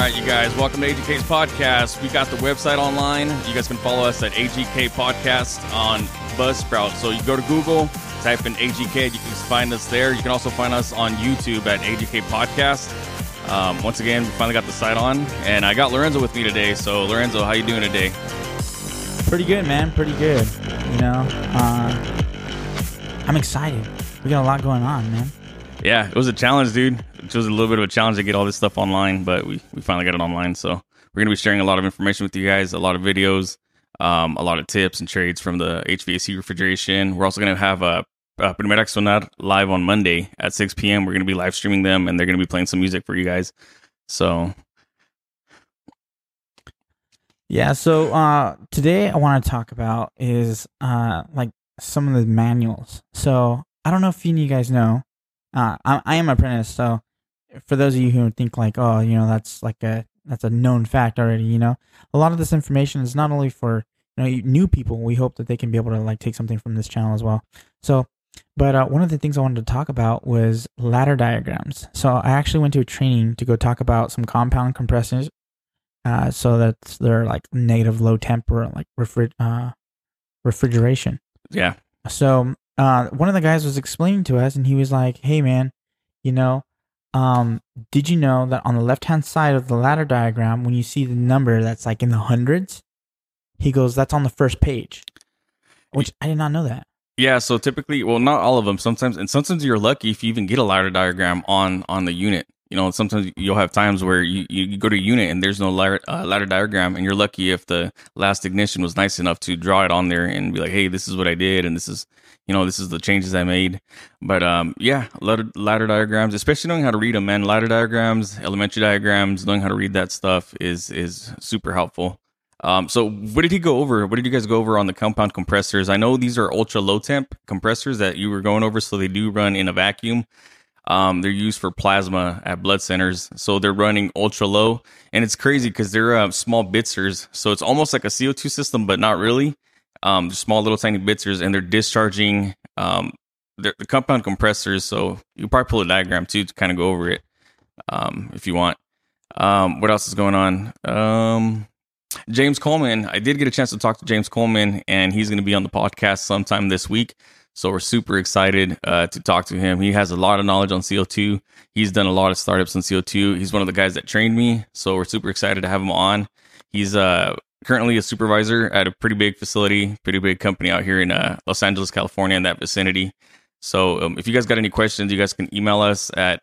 right, you guys, welcome to AGK's podcast. We got the website online. You guys can follow us at AGK Podcast on Buzzsprout. So you go to Google, type in AGK, you can find us there. You can also find us on YouTube at AGK Podcast. Once again, we finally got the site on, and I got Lorenzo with me today. So, Lorenzo, how you doing today? Pretty good, man. Pretty good. You know, I'm excited. We got a lot going on, man. Yeah, it was a challenge, dude. It was a little bit of a challenge to get all this stuff online, but we finally got it online. So we're going to be sharing a lot of information with you guys, a lot of videos, a lot of tips and trades from the HVAC refrigeration. We're also going to have Primera Sonar live on Monday at 6 p.m. We're going to be live streaming them, and they're going to be playing some music for you guys. So... yeah, so today I want to talk about is like some of the manuals. So I don't know if any of you guys know, I am an apprentice. So for those of you who think like, oh, you know, that's a known fact already. You know, a lot of this information is not only for new people. We hope that they can be able to like take something from this channel as well. So, but one of the things I wanted to talk about was ladder diagrams. So I actually went to a training to go talk about some compound compressors. So that they're like negative low temp or like refrigeration. Yeah. So one of the guys was explaining to us, and he was like, "Hey, man, you know, did you know that on the left-hand side of the ladder diagram, when you see the number that's like in the hundreds, he goes, that's on the first page." Which I did not know that. Yeah. So typically, well, not all of them. Sometimes you're lucky if you even get a ladder diagram on the unit. You know, sometimes you'll have times where you go to a unit and there's no ladder diagram, and you're lucky if the last technician was nice enough to draw it on there and be like, hey, this is what I did, and this is the changes I made. But yeah, ladder diagrams, especially knowing how to read them, man. Ladder diagrams, elementary diagrams, knowing how to read that stuff is super helpful. So what did he go over? What did you guys go over on the compound compressors? I know these are ultra low temp compressors that you were going over, so they do run in a vacuum. They're used for plasma at blood centers, so they're running ultra low, and it's crazy because they're small bitzers, so it's almost like a CO2 system, but not really. They're small little tiny bitzers, and they're discharging the compound compressors. So you can probably pull a diagram too to kind of go over it if you want. What else is going on? James Coleman. I did get a chance to talk to James Coleman, and he's going to be on the podcast sometime this week. So we're super excited to talk to him. He has a lot of knowledge on CO2. He's done a lot of startups on CO2. He's one of the guys that trained me. So we're super excited to have him on. He's currently a supervisor at a pretty big facility, pretty big company out here in Los Angeles, California, in that vicinity. So if you guys got any questions, you guys can email us at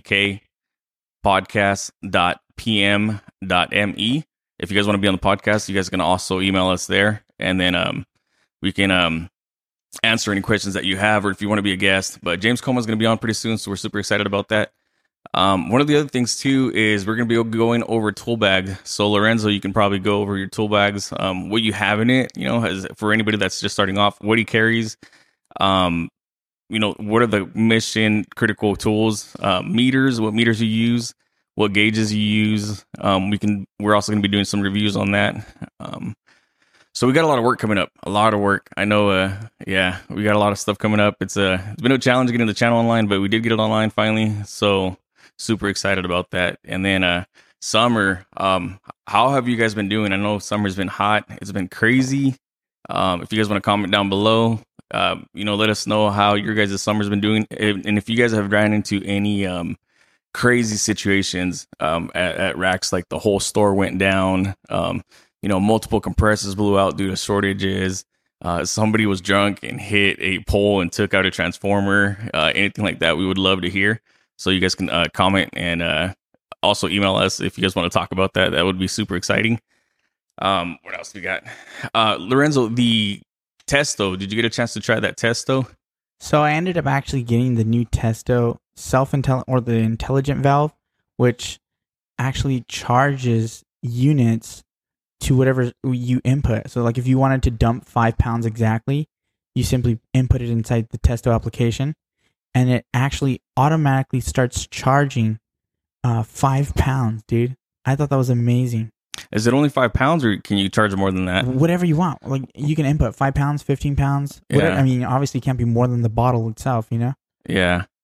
agkpodcast.pm.me. If you guys want to be on the podcast, you guys can also email us there. And then we can... answer any questions that you have, or if you want to be a guest. But James Coleman's going to be on pretty soon, so we're super excited about that. One of the other things too is we're going to be going over tool bag. So Lorenzo, you can probably go over your tool bags, what you have in it. You know, as for anybody that's just starting off, what he carries. You know, what are the mission critical tools? Meters, what meters you use, what gauges you use. We're also going to be doing some reviews on that. So we got a lot of work coming up. A lot of work. I know, yeah, we got a lot of stuff coming up. It's been a challenge getting the channel online, but we did get it online finally. So super excited about that. And then summer, how have you guys been doing? I know summer's been hot. It's been crazy. If you guys want to comment down below, let us know how your guys' summer's been doing. And if you guys have ran into any crazy situations at racks, like the whole store went down, multiple compressors blew out due to shortages. Somebody was drunk and hit a pole and took out a transformer. Anything like that, we would love to hear. So you guys can comment and also email us if you guys want to talk about that. That would be super exciting. What else we got? Lorenzo, the Testo. Did you get a chance to try that Testo? So I ended up actually getting the new Testo the intelligent valve, which actually charges units to whatever you input. So like if you wanted to dump 5 pounds exactly, you simply input it inside the Testo application, and it actually automatically starts charging 5 pounds, dude. I thought that was amazing. Is it only 5 pounds, or can you charge more than that? Whatever you want. Like you can input 5 pounds, 15 pounds. Whatever. Yeah. I mean, obviously it can't be more than the bottle itself, you know? Yeah.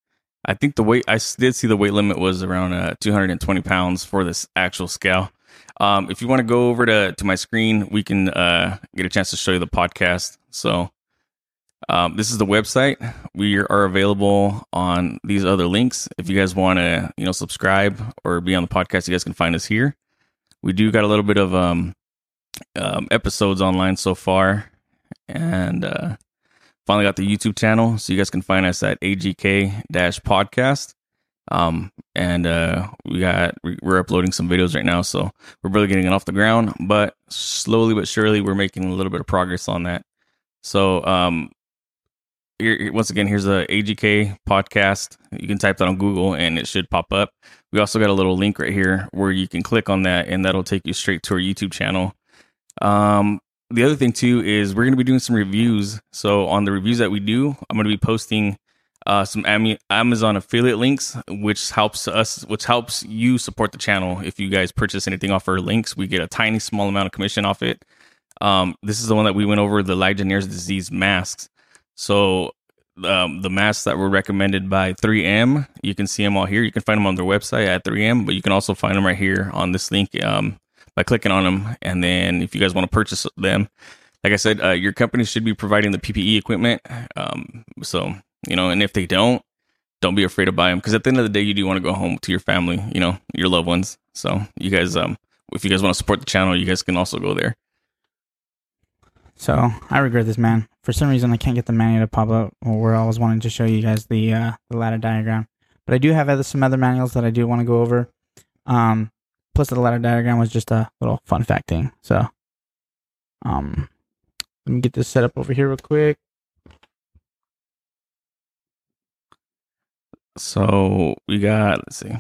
I think the weight, did see the weight limit was around 220 pounds for this actual scale. If you want to go over to my screen, we can get a chance to show you the podcast. So this is the website. We are available on these other links. If you guys want to, subscribe or be on the podcast, you guys can find us here. We do got a little bit of episodes online so far, and finally got the YouTube channel, so you guys can find us at AGK-podcast. And we're uploading some videos right now, so we're really getting it off the ground, but slowly but surely we're making a little bit of progress on that. So once again, here's the AGK podcast. You can type that on Google and it should pop up. We also got a little link right here where you can click on that, and that'll take you straight to our YouTube channel. The other thing too is we're going to be doing some reviews. So on the reviews that we do, I'm going to be posting some Amazon affiliate links, which helps you support the channel. If you guys purchase anything off our links, we get a tiny small amount of commission off it. This is the one that we went over, the Legionnaire's disease masks. So the masks that were recommended by 3M, you can see them all here. You can find them on their website at 3M, but you can also find them right here on this link by clicking on them. And then if you guys want to purchase them, like I said, your company should be providing the PPE equipment. So, and if they don't be afraid to buy them, because at the end of the day, you do want to go home to your family, your loved ones. So you guys, if you guys want to support the channel, you guys can also go there. So I regret this, man. For some reason, I can't get the manual to pop up where I was wanting to show you guys the ladder diagram. But I do have some other manuals that I do want to go over. Plus, the ladder diagram was just a little fun fact thing. So, let me get this set up over here real quick. So we got, let's see.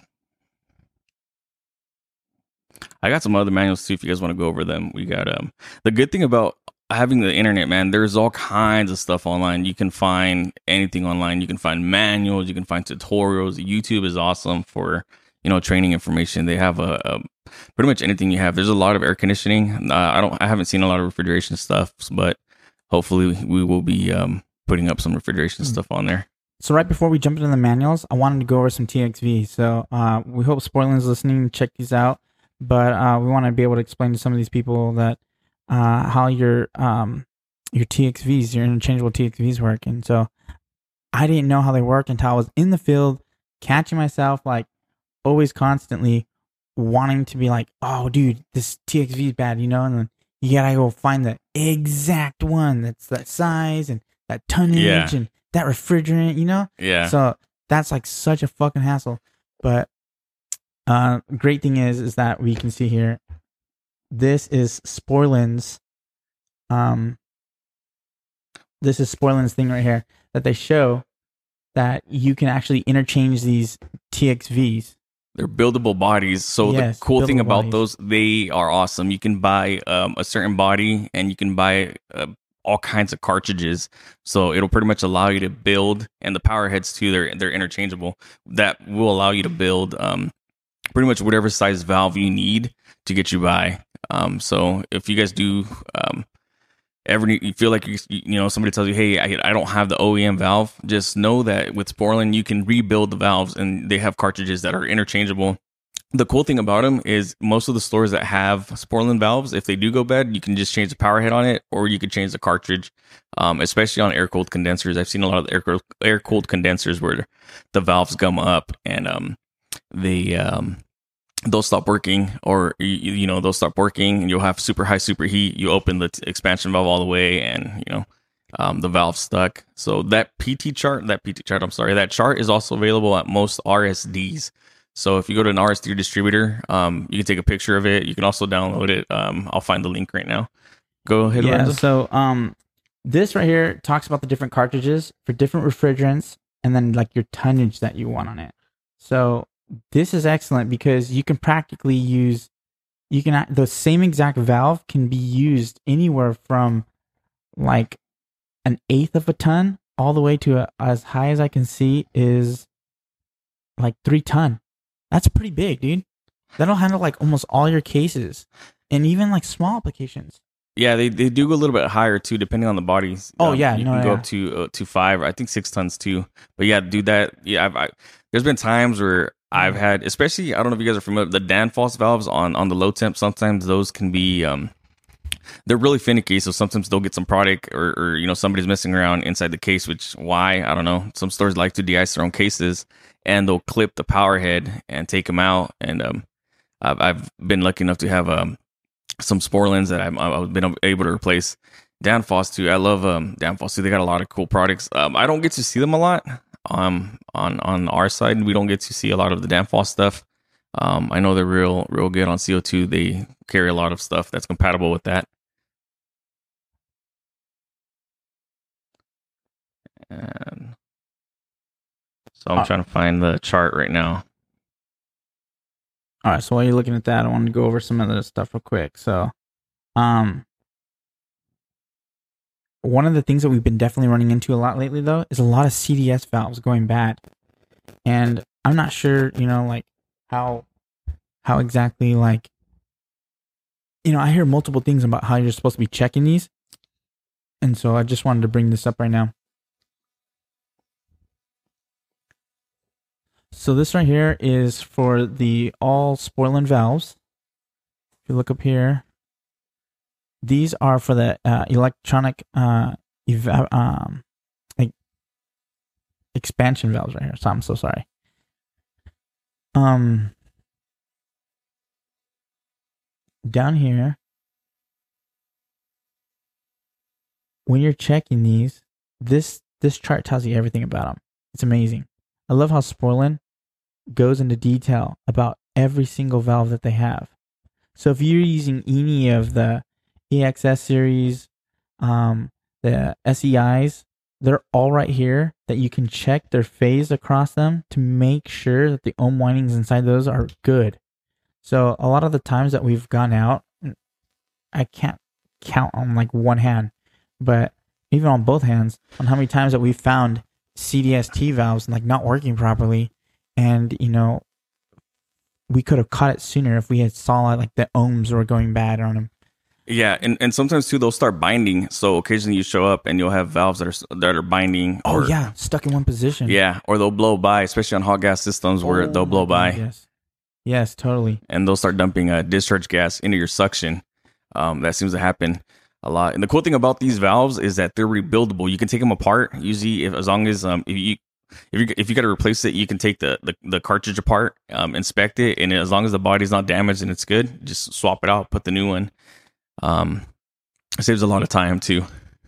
I got some other manuals too if you guys want to go over them. We got the good thing about having the internet, man, there's all kinds of stuff online. You can find anything online. You can find manuals, you can find tutorials. YouTube is awesome for, training information. They have a pretty much anything you have. There's a lot of air conditioning. I haven't seen a lot of refrigeration stuff, but hopefully we will be putting up some refrigeration stuff on there. So right before we jump into the manuals, I wanted to go over some TXV. So we hope Spoilin's listening. Check these out. But we want to be able to explain to some of these people that how your TXVs, your interchangeable TXVs work. And so I didn't know how they worked until I was in the field, catching myself like always constantly wanting to be like, oh, dude, this TXV is bad, and then you gotta go find the exact one that's that size and that tonnage and that refrigerant, Yeah. So that's like such a fucking hassle. But great thing is that we can see here, this is Spoilin's thing right here that they show that you can actually interchange these TXVs. They're buildable bodies. So the cool thing about those, they are awesome. You can buy a certain body and you can buy all kinds of cartridges. So it'll pretty much allow you to build, and the power heads too, they're interchangeable. That will allow you to build pretty much whatever size valve you need to get you by. So if you guys do ever you feel like somebody tells you, hey, I don't have the OEM valve, just know that with Sporlan you can rebuild the valves, and they have cartridges that are interchangeable. The cool thing about them is most of the stores that have Sporlan valves, if they do go bad, you can just change the power head on it, or you could change the cartridge, especially on air-cooled condensers. I've seen a lot of air-cooled condensers where the valves gum up and they'll stop working, or they'll stop working, and you'll have super high superheat. You open the expansion valve all the way, and the valve's stuck. So that chart is also available at most RSDs. So if you go to an RSD distributor, you can take a picture of it. You can also download it. I'll find the link right now. Go ahead. Yeah. Lorenzo. So this right here talks about the different cartridges for different refrigerants, and then like your tonnage that you want on it. So this is excellent because you can practically use, the same exact valve can be used anywhere from like 1/8 of a ton all the way to as high as I can see is like 3 ton. That's pretty big, dude. That'll handle like almost all your cases and even like small applications. Yeah, they do go a little bit higher too, depending on the bodies. Oh yeah, you can go up to 5, I think 6 tons too. But yeah, do that. Yeah, there's been times where I've had, especially, I don't know if you guys are familiar, the Danfoss valves on the low temp. Sometimes those can be they're really finicky, so sometimes they'll get some product or somebody's messing around inside the case, which why I don't know. Some stores like to de-ice their own cases, and they'll clip the power head and take them out. And I've been lucky enough to have some Sporlins that I've been able to replace. Danfoss too. I love Danfoss too. They got a lot of cool products. I don't get to see them a lot. On our side, we don't get to see a lot of the Danfoss stuff. I know they're real good on CO2. They carry a lot of stuff that's compatible with that. And so I'm trying to find the chart right now. All right, so while you're looking at that, I wanted to go over some of the stuff real quick. So, one of the things that we've been definitely running into a lot lately, though, is a lot of CDS valves going bad. And I'm not sure, like how exactly, like, I hear multiple things about how you're supposed to be checking these. And so I just wanted to bring this up right now. So this right here is for the all Sporlan valves. If you look up here, these are for the electronic expansion valves right here. So I'm so sorry. Down here, when you're checking these, this chart tells you everything about them. It's amazing. I love how Sporlan goes into detail about every single valve that they have. So if you're using any of the EXS series, the SEIs, they're all right here that you can check their phase across them to make sure that the ohm windings inside those are good. So a lot of the times that we've gone out, I can't count on like one hand, but even on both hands, on how many times that we've found CDST valves like not working properly. And, we could have caught it sooner if we had saw like the ohms were going bad on them. Yeah, and sometimes too they'll start binding. So occasionally you show up and you'll have valves that are binding. Oh yeah, stuck in one position. Yeah, or they'll blow by, especially on hot gas systems where they'll blow by. Yes, totally. And they'll start dumping discharge gas into your suction. That seems to happen a lot. And the cool thing about these valves is that they're rebuildable. You can take them apart. Usually, as long as if you got to replace it, you can take the cartridge apart, inspect it, and as long as the body's not damaged and it's good, just swap it out, put the new one. It saves a lot of time too.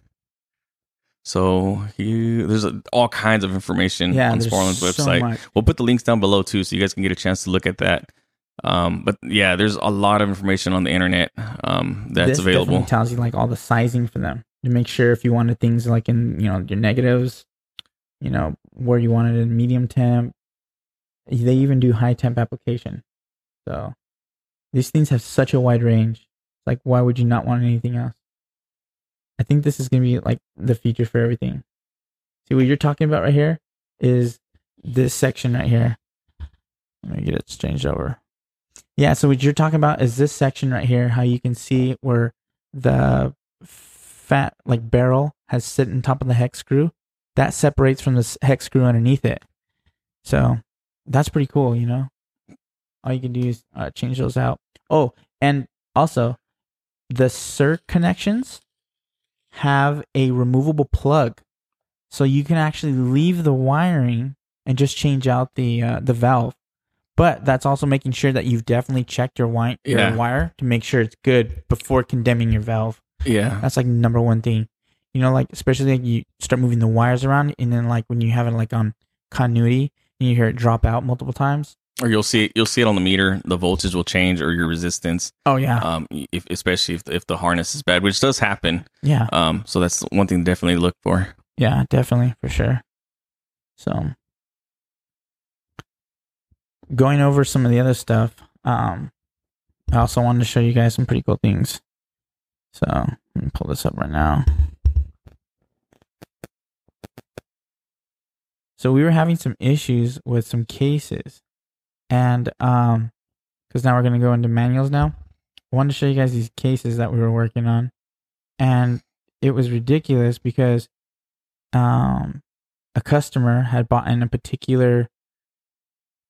So there's all kinds of information on Sporlan's website. We'll put the links down below too, so you guys can get a chance to look at that. But yeah, there's a lot of information on the internet that's available. This tells you like all the sizing for them to make sure if you wanted things like in your negatives, where you want it in medium temp. They even do high temp application. So these things have such a wide range. Like, why would you not want anything else? I think this is going to be like the feature for everything. See what you're talking about right here is this section right here. Let me get it changed over. Yeah, so what you're talking about is this section right here, how you can see where the fat like barrel has sit on top of the hex screw. That separates from the hex screw underneath it. So that's pretty cool, All you can do is change those out. Oh, and also the SIR connections have a removable plug. So you can actually leave the wiring and just change out the valve. But that's also making sure that you've definitely checked your wire to make sure it's good before condemning your valve. Yeah. That's like number one thing. Like especially like you start moving the wires around, and then like when you have it like on continuity and you hear it drop out multiple times. Or you'll see it on the meter. The voltage will change, or your resistance. Oh yeah. Especially if the harness is bad, which does happen. Yeah. So that's one thing to definitely look for. Yeah, definitely for sure. So going over some of the other stuff, I also wanted to show you guys some pretty cool things. So let me pull this up right now. So we were having some issues with some cases. And because now we're going to go into manuals now. I wanted to show you guys these cases that we were working on. And it was ridiculous because a customer had bought in a particular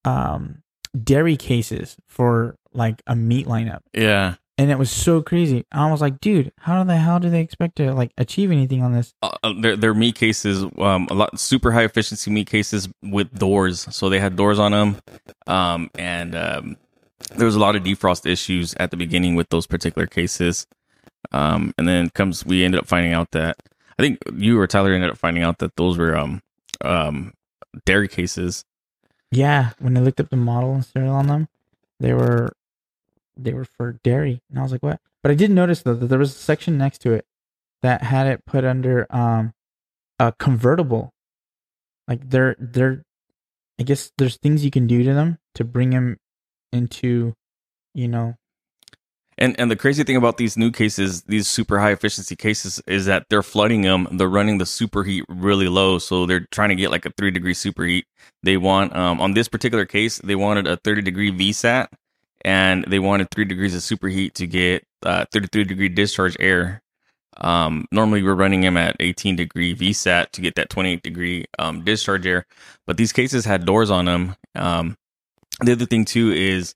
dairy cases for like a meat lineup. Yeah. And it was so crazy. I was like, dude, how the hell do they expect to like achieve anything on this? Their meat cases, a lot super high efficiency meat cases with doors. So they had doors on them, and there was a lot of defrost issues at the beginning with those particular cases. And then we ended up finding out that I think you or Tyler ended up finding out that those were dairy cases. Yeah, when I looked up the model and serial on them, they were for dairy, and I was like, what? But I did notice though that there was a section next to it that had it put under a convertible. Like they're I guess there's things you can do to them to bring them into, you know. And the crazy thing about these new cases, these super high efficiency cases, is that they're flooding them. They're running the superheat really low, so they're trying to get like a 3-degree superheat. They want on this particular case, they wanted a 30-degree VSAT, and they wanted 3 degrees of superheat to get 33-degree discharge air. Normally we're running them at 18-degree VSAT to get that 28-degree discharge air, but these cases had doors on them. The other thing too is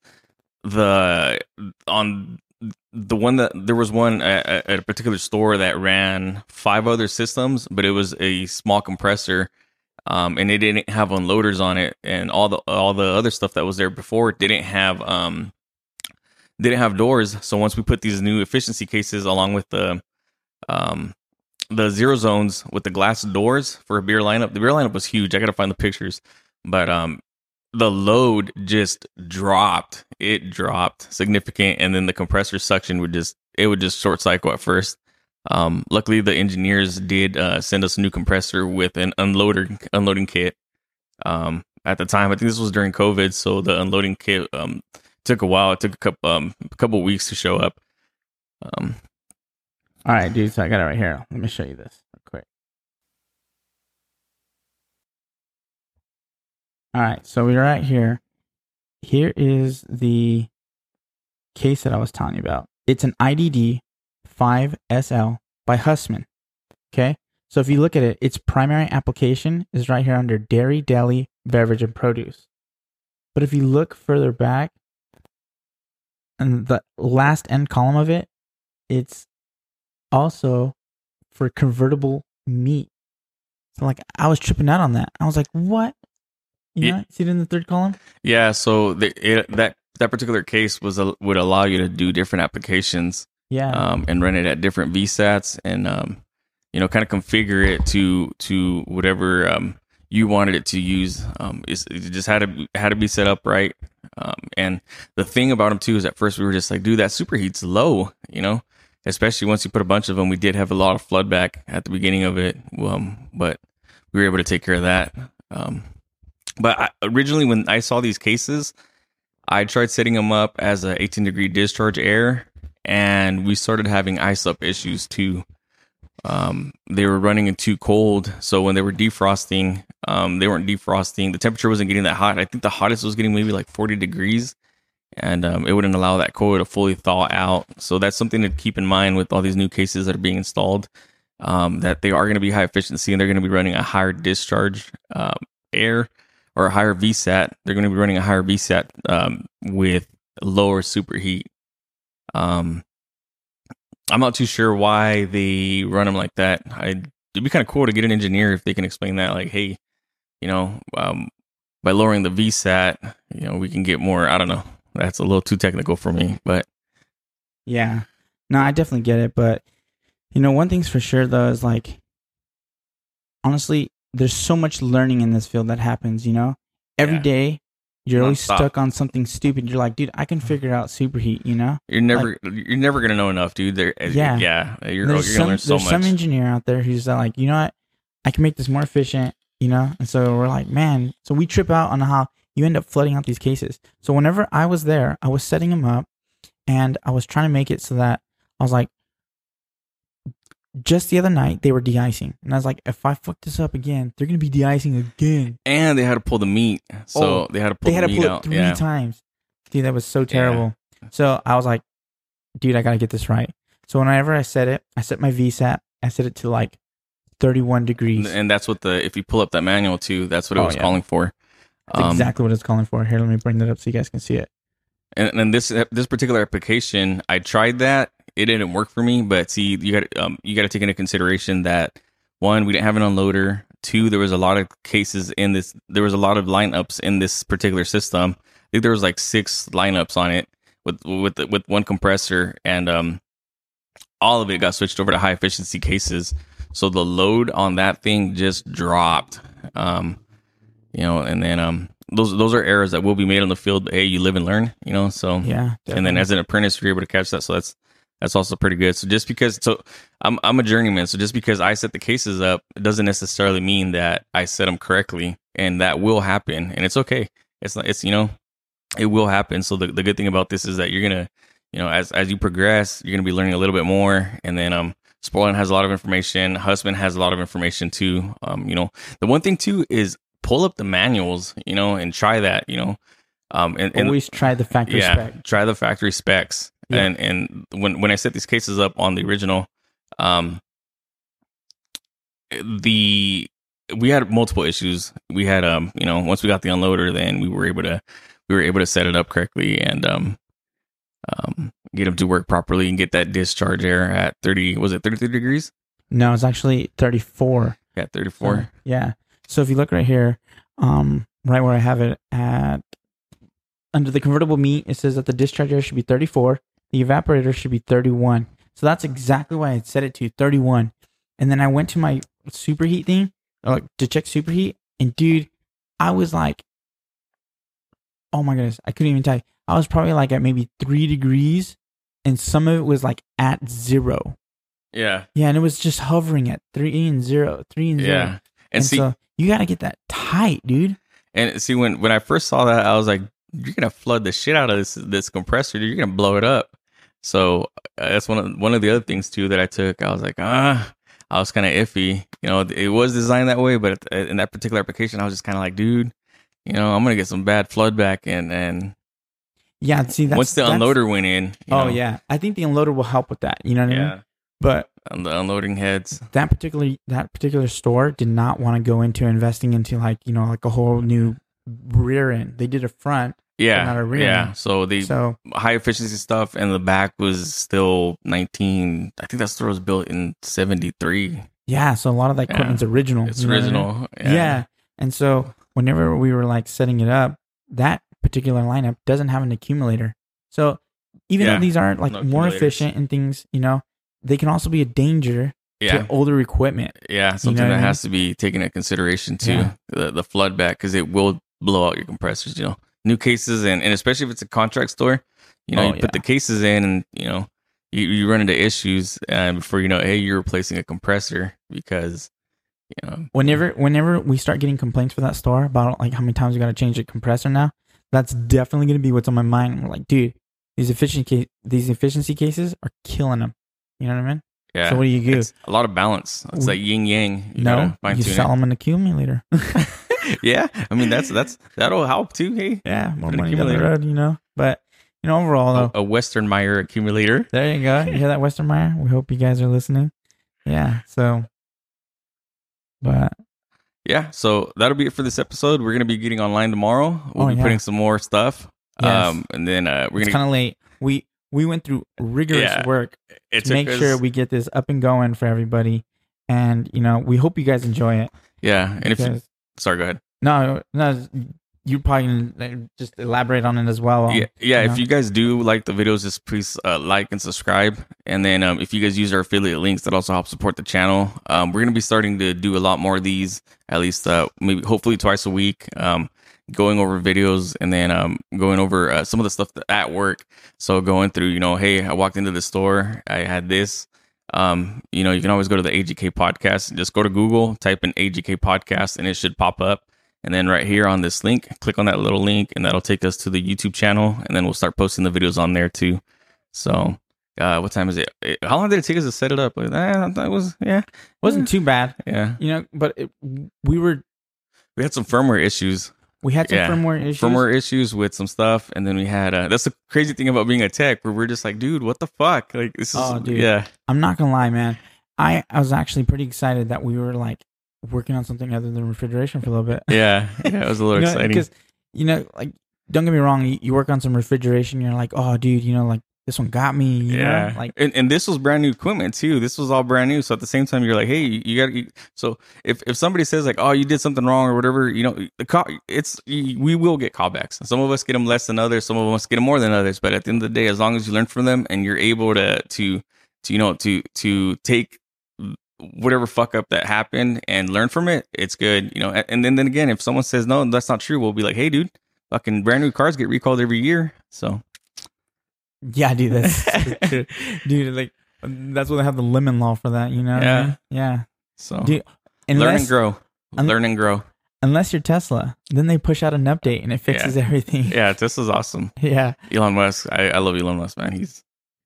the one that there was one at a particular store that ran 5 other systems, but it was a small compressor, and it didn't have unloaders on it, and all the other stuff that was there before didn't have doors. So once we put these new efficiency cases along with the zero zones with the glass doors for a beer lineup, the beer lineup was huge. I gotta find the pictures, but the load just dropped. It dropped significant, and then the compressor suction would just short cycle at first. Luckily, the engineers did send us a new compressor with an unloading kit. At the time, I think this was during COVID, so the unloading kit took a while. It took a couple of weeks to show up. All right, dude. So I got it right here. Let me show you this real quick. All right, so we're right here. Here is the case that I was telling you about. It's an IDD 5SL by Hussmann. Okay, so if you look at it, its primary application is right here under dairy, deli, beverage, and produce. But if you look further back, and the last end column of it, it's also for convertible meat. So like I was tripping out on that. I was like, what? You know, see it in the third column? Yeah, so that particular case would allow you to do different applications. Yeah. And run it at different VSATs, and kind of configure it to whatever you wanted it to use. It just had to be set up right. And the thing about them too is at first we were just like, dude, that superheat's low, especially once you put a bunch of them. We did have a lot of flood back at the beginning of it, but we were able to take care of that. But originally when I saw these cases, I tried setting them up as a 18-degree discharge air, and we started having ice up issues too. They were running in too cold, so when they were defrosting, they weren't defrosting. The temperature wasn't getting that hot. I think the hottest was getting maybe like 40 degrees, and it wouldn't allow that coil to fully thaw out. So that's something to keep in mind with all these new cases that are being installed, that they are going to be high efficiency, and they're going to be running a higher discharge air, or a higher VSAT. They're going to be running a higher VSAT with lower superheat. I'm not too sure why they run them like that. It'd be kind of cool to get an engineer if they can explain that. Like, hey, by lowering the VSAT, we can get more. I don't know. That's a little too technical for me, but yeah, no, I definitely get it. But one thing's for sure though is like, honestly, there's so much learning in this field that happens. Every day you're always stuck on something stupid. You're like, dude, I can figure out superheat. You're never gonna know enough, dude. You're gonna learn so much. There's some engineer out there who's like, you know what, I can make this more efficient. And so we're like, man. So we trip out on how you end up flooding out these cases. So whenever I was there, I was setting them up, and I was trying to make it so that I was like, just the other night they were de-icing, and I was like, if I fuck this up again, they're gonna be de-icing again. And they had to pull the meat, so they had to pull the meat out 3 times. Dude, that was so terrible. Yeah. So I was like, dude, I gotta get this right. So whenever I set my VSAT, I set it to like 31 degrees, and that's what if you pull up that manual too, that's what it was calling for. That's exactly what it's calling for. Here, let me bring that up so you guys can see it. And this particular application, I tried that. It didn't work for me. But see, you got to take into consideration that, one, we didn't have an unloader. Two, there was a lot of cases in this. There was a lot of lineups in this particular system. I think there was like 6 lineups on it with one compressor, and all of it got switched over to high efficiency cases. So the load on that thing just dropped. And then those are errors that will be made on the field. But hey, you live and learn, So yeah, definitely. And then as an apprentice, you're able to catch that. So that's also pretty good. So just because, I'm a journeyman. So just because I set the cases up, it doesn't necessarily mean that I set them correctly, and that will happen, and it's okay. It will happen. So the good thing about this is that you're gonna, as you progress, you're gonna be learning a little bit more, and then Sportland has a lot of information. Husband has a lot of information too. The one thing too is pull up the manuals, and try that, and always try the factory spec. Try the factory specs. Yeah. And when I set these cases up on the original, we had multiple issues. We had once we got the unloader, then we were able to set it up correctly and get them to work properly and get that discharge air at 30. Was it 33 degrees? No, it's actually 34. Yeah, 34. So, yeah. So if you look right here, right where I have it at, under the convertible meat, it says that the discharge air should be 34. The evaporator should be 31. So that's exactly why I set it to 31. And then I went to my superheat thing to check superheat. And dude, I was like, oh my goodness, I couldn't even tell you. I was probably like at maybe 3 degrees, and some of it was like at 0. Yeah. Yeah, and it was just hovering at 3 and 0, 3 and 0. Yeah. And see, so you got to get that tight, dude. And see, when I first saw that, I was like, you're going to flood the shit out of this compressor. Dude. You're going to blow it up. So that's one of the other things too that I took. I was like, I was kind of iffy. It was designed that way, but in that particular application, I was just kind of like, dude, I'm gonna get some bad flood back, and yeah. See, once the unloader went in, yeah, I think the unloader will help with that. You know what I mean? But on the unloading heads, that particular store did not want to go into investing into like a whole new rear end. They did a front. Yeah, not a rear end. So the high efficiency stuff and the back was still 19. I think that store was built in 73. Yeah, so a lot of that equipment's original. It's original. Yeah, and so whenever we were like setting it up, that particular lineup doesn't have an accumulator. So even though these aren't like more efficient and things, they can also be a danger to older equipment. Yeah, something that has to be taken into consideration too. Yeah. The flood back, because it will blow out your compressors. New cases, and especially if it's a contract store, you put the cases in, and you run into issues, and before you know, hey, you're replacing a compressor because whenever we start getting complaints for that store about like how many times we got to change the compressor now, that's definitely going to be what's on my mind. We're like, dude, these efficiency cases are killing them. You know what I mean? Yeah. So what do you do? It's a lot of balance. It's like yin yang. You sell them an accumulator. Yeah, I mean that'll help too. Hey, yeah, more money down the road, But overall, though, a Western Meyer accumulator. There you go. You hear that, Western Meyer? We hope you guys are listening. Yeah. So, but yeah, so that'll be it for this episode. We're gonna be getting online tomorrow. We'll be putting some more stuff. Yes. And then it's kind of late. We went through rigorous work to make sure we get this up and going for everybody, and we hope you guys enjoy it. Yeah, and sorry, go ahead. No, you're probably gonna just elaborate on it as well. Yeah. If you guys do like the videos, just please like and subscribe. And then if you guys use our affiliate links, that also helps support the channel. We're gonna be starting to do a lot more of these, at least maybe hopefully twice a week. Going over videos, and then going over some of the stuff at work. So going through, hey, I walked into the store, I had this. You can always go to the AGK podcast. Just go to Google, type in AGK podcast, and it should pop up. And then right here on this link, click on that little link, and that'll take us to the YouTube channel. And then we'll start posting the videos on there too. So, what time is it? How long did it take us to set it up? It wasn't too bad. Yeah, but we had some firmware issues. We had some firmware issues with some stuff, and then we had that's the crazy thing about being a tech, where we're just like, dude, what the fuck? Like this is dude. Yeah. I'm not gonna lie, man. I was actually pretty excited that we were like working on something other than refrigeration for a little bit. Yeah, it was a little exciting. Because like, don't get me wrong, you work on some refrigeration, you're like, oh, dude, like this one got me. You know? Like, and this was brand new equipment too. This was all brand new. So at the same time, you're like, hey, you got. So if somebody says like, oh, you did something wrong or whatever, we will get callbacks. Some of us get them less than others. Some of us get them more than others. But at the end of the day, as long as you learn from them and you're able to take whatever fuck up that happened and learn from it, it's good. And then again, if someone says no, that's not true, we'll be like, hey, dude, fucking brand new cars get recalled every year. So. Yeah, dude, that's dude. Like, that's why they have the lemon law for that. You know? Yeah, I mean? Yeah. So, dude, learn and grow. Learn and grow. Unless you're Tesla, then they push out an update and it fixes everything. Yeah, Tesla's awesome. Yeah, Elon Musk. I love Elon Musk, man. He's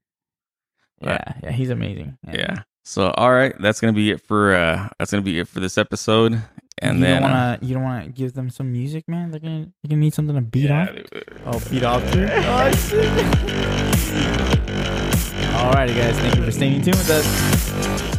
he's amazing. Yeah. So, all right, that's gonna be it for this episode. And you don't wanna give them some music, man. They're gonna need something to beat off. Beat off too. Oh shit! Alrighty, guys, thank you for staying tuned with us.